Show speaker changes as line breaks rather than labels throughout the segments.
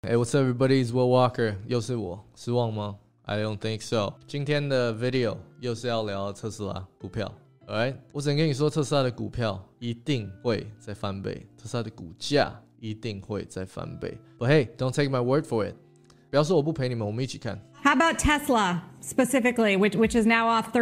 Hey, what's up, everybody? It's Will Walker. 又是我，失望吗？ I don't think so. 今天的 video 又是要聊特斯拉股票。Alright， 我只能跟你说，特斯拉的股票一定会再翻倍，特斯拉的股价一定会再翻倍。But hey, don't take my word for it. 不要说我不陪你们，我们一起看。
How about Tesla specifically, which is now off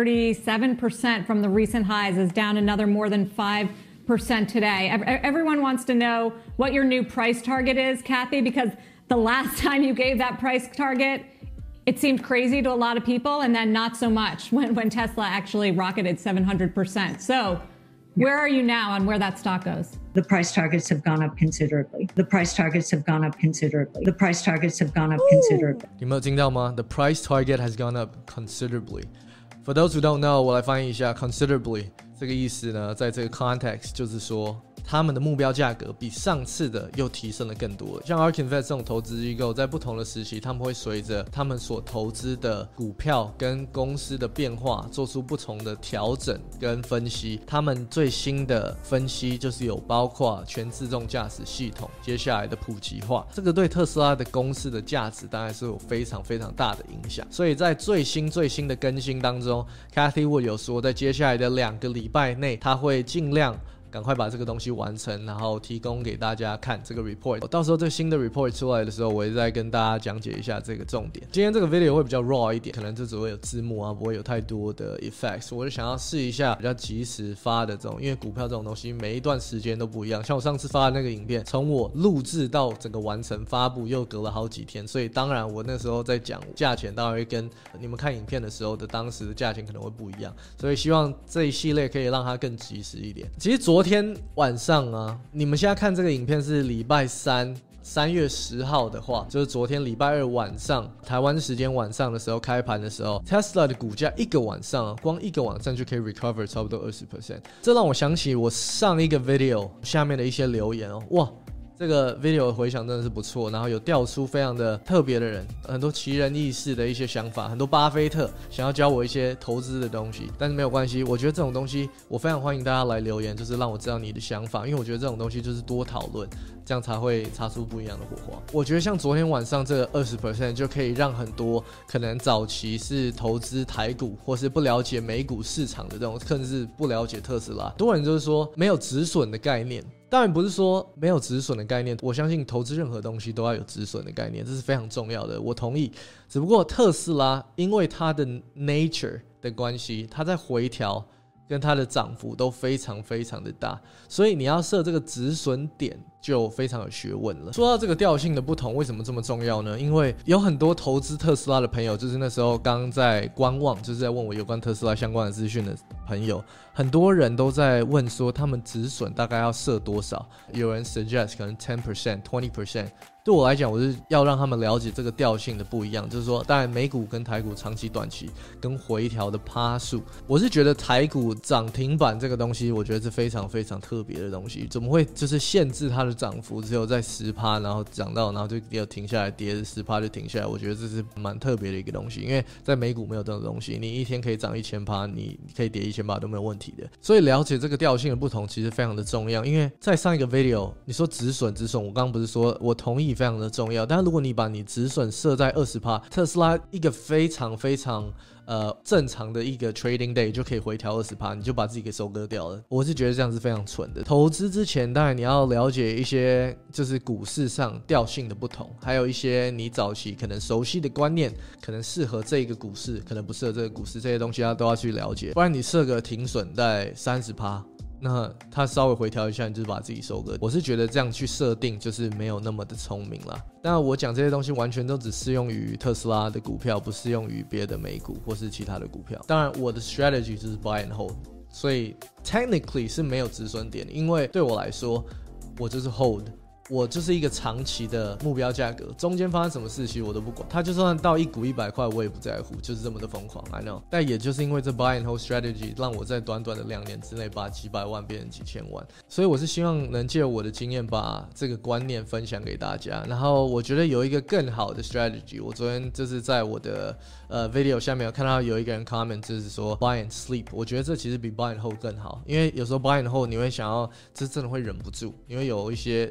37% from the recent highs, is down another more than 5% today. Everyone wants to know what your new price target is, Kathy, because the last time you gave that price target, it seemed crazy to a lot of people, and then not so much when Tesla actually rocketed 700%. So where are you now on where that stock goes?
The price targets have gone up considerably. The price targets have gone up considerably. The price targets have gone up considerably.
你有没有听到吗？ The price target has gone up considerably. For those who don't know, 我来翻译一下 considerably 这个意思呢，在这个 context 就是说他们的目标价格比上次的又提升了更多。像 ARK Invest 这种投资机构，在不同的时期，他们会随着他们所投资的股票跟公司的变化，做出不同的调整跟分析。他们最新的分析就是有包括全自动驾驶系统接下来的普及化，这个对特斯拉的公司的价值当然是有非常非常大的影响。所以在最新的更新当中 ，Cathy Wood 有说，在接下来的2个礼拜内，他会尽量赶快把这个东西完成，然后提供给大家看这个 report。到时候这个新的 report 出来的时候，我会再跟大家讲解一下这个重点。今天这个 video 会比较 raw 一点，可能就只会有字幕啊，不会有太多的 effects。我就想要试一下比较及时发的这种，因为股票这种东西每一段时间都不一样。像我上次发的那个影片，从我录制到整个完成发布又隔了好几天，所以当然我那时候在讲价钱，当然会跟你们看影片的时候的当时的价钱可能会不一样。所以希望这一系列可以让它更及时一点。其实昨天晚上啊，你们现在看这个影片是礼拜3月10号的话，就是昨天礼拜2晚上台湾时间晚上的时候开盘的时候 Tesla 的股价一个晚上光一个晚上就可以 recover 差不多 20%。 这让我想起我上一个 video 下面的一些留言哦，哇，这个 video 的回响真的是不错，然后有调出非常的特别的人，很多奇人异事的一些想法，很多巴菲特想要教我一些投资的东西，但是没有关系，我觉得这种东西我非常欢迎大家来留言，就是让我知道你的想法，因为我觉得这种东西就是多讨论，这样才会擦出不一样的火花。我觉得像昨天晚上这个 20% 就可以让很多可能早期是投资台股或是不了解美股市场的这种，甚至不了解特斯拉，很多人就是说没有止损的概念。当然不是说没有止损的概念，我相信投资任何东西都要有止损的概念，这是非常重要的，我同意。只不过特斯拉因为它的 nature 的关系，它在回调跟它的涨幅都非常非常的大，所以你要设这个止损点就非常有学问了。说到这个调性的不同，为什么这么重要呢？因为有很多投资特斯拉的朋友，就是那时候刚在观望，就是在问我有关特斯拉相关的资讯的朋友，很多人都在问说他们止损大概要设多少，有人 suggest 可能 10%、20%。对我来讲，我是要让他们了解这个调性的不一样，就是说当然美股跟台股长期短期跟回调的趴数，我是觉得台股涨停板这个东西我觉得是非常非常特别的东西，怎么会就是限制它的涨幅只有在 10%， 然后涨到然后就停下来，跌 10% 就停下来，我觉得这是蛮特别的一个东西，因为在美股没有这种东西，你一天可以涨 1000%， 你可以跌 1000% 都没有问题的。所以了解这个调性的不同其实非常的重要，因为在上一个 video 你说止损，我刚刚不是说我同意非常的重要，但是如果你把你止损设在 20%， 特斯拉一个非常非常正常的一个 trading day 就可以回调 20%， 你就把自己给收割掉了。我是觉得这样是非常蠢的。投资之前当然你要了解一些就是股市上调性的不同，还有一些你早期可能熟悉的观念，可能适合这个股市，可能不适合这个股市，这些东西都要去了解，不然你设个停损在 30%，那它稍微回调一下，你就是把自己收割。我是觉得这样去设定就是没有那么的聪明啦。当然我讲这些东西完全都只适用于特斯拉的股票，不适用于别的美股或是其他的股票。当然我的 strategy 就是 buy and hold， 所以 technically 是没有止损点，因为对我来说我就是 hold，我就是一个长期的目标价格，中间发生什么事情我都不管，它就算到一股100块我也不在乎，就是这么的疯狂 I know。 但也就是因为这 buy and hold strategy 让我在短短的2年之内把几百万变成几千万，所以我是希望能借我的经验把这个观念分享给大家。然后我觉得有一个更好的 strategy， 我昨天就是在我的video 下面有看到有一个人 comment 就是说 buy and sleep， 我觉得这其实比 buy and hold 更好，因为有时候 buy and hold 你会想要这真的会忍不住，因为有一些就是会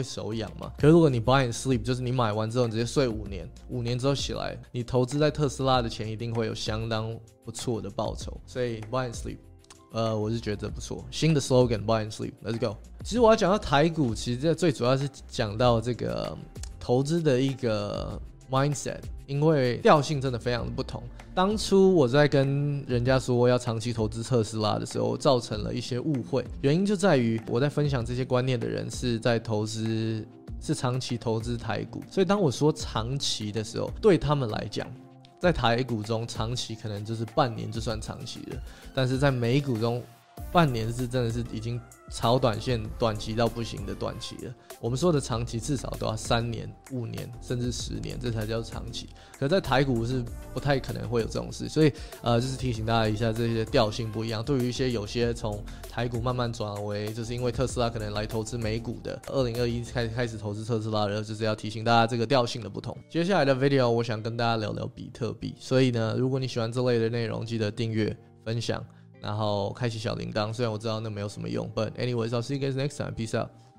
手痒嘛。可是如果你 buy and sleep， 就是你买完之后你直接睡5年，5年之后起来，你投资在特斯拉的钱一定会有相当不错的报酬。所以 buy and sleep， 我是觉得不错。新的 slogan buy and sleep，let's go。其实我要讲到台股，其实最主要是讲到这个投资的一个 mindset， 因为调性真的非常的不同。当初我在跟人家说要长期投资特斯拉的时候，造成了一些误会，原因就在于我在分享这些观念的人是在投资，是长期投资台股，所以当我说长期的时候，对他们来讲，在台股中长期可能就是半年就算长期了，但是在美股中半年是真的是已经超短线短期到不行的短期了。我们说的长期至少都要3年、5年甚至10年，这才叫长期。可在台股是不太可能会有这种事，所以就是提醒大家一下，这些调性不一样。对于有些从台股慢慢转为就是因为特斯拉可能来投资美股的，2021开始投资特斯拉的，就是要提醒大家这个调性的不同。接下来的 video 我想跟大家聊聊比特币，所以呢，如果你喜欢这类的内容，记得订阅、分享。然后开启小铃铛，虽然我知道那没有什么用 ，but anyways, I'll see you guys next time. Peace out.